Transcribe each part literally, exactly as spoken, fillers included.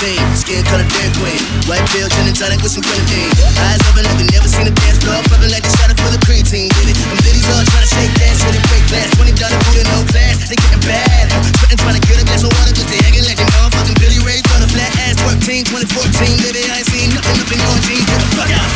nineteen, skin color Dairy Queen. White pill, gin and tonic with some grenadine. Eyes open like we never seen a dance floor. Popping like they shot up for the creatine. Did it? Them ladies all trying to shake that shit and break glass. twenty dollar food and no class, they getting bad. Sweating trying to get a glass of water cause they acting like they motherfucking Billy Ray. Got a flat ass twerk team, twenty fourteen. Baby, I ain't seen nothing up in your jeans. Get the fuck out.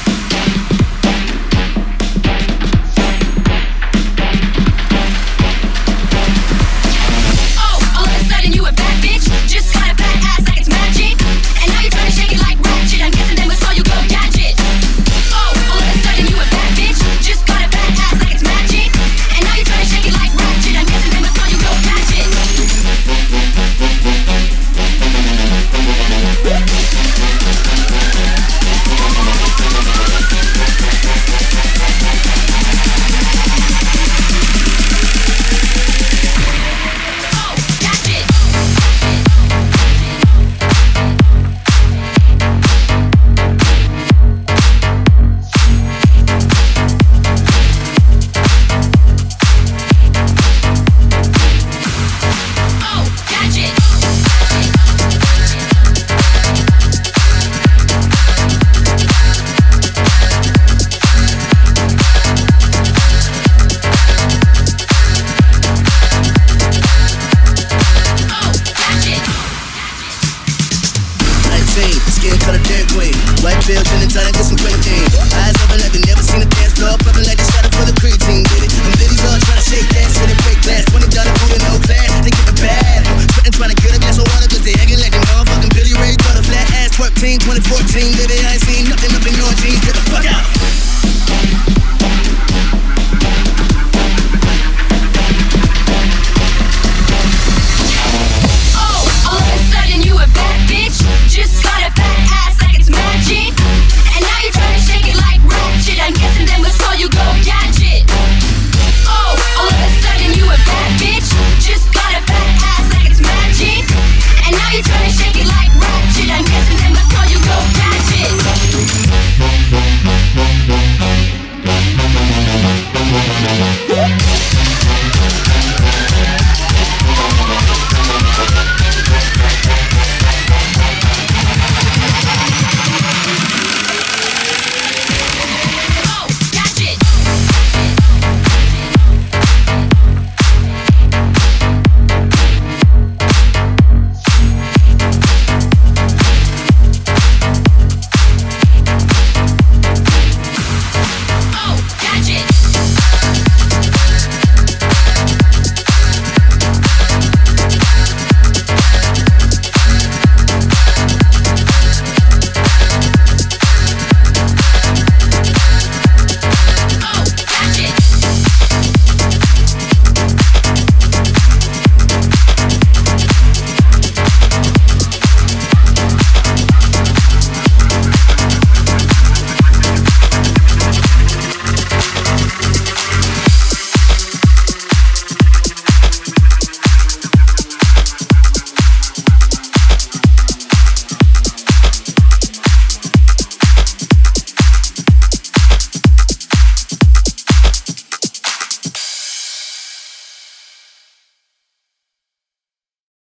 Skin color Dairy Queen. White pill, gin and tonic with some grenadine. Eyes open like they never seen a dance floor. Popping like they shot up for the creatine. Did it? Them ladies all trying to shake that shit and break glass. twenty dollar food and no class, they getting bad. Sweating trying to get a glass of water cause they acting like they motherfucking Billy Ray. Got a flat ass twerk team, twenty fourteen. Baby, I ain't seen nothing up in your jeans. Get the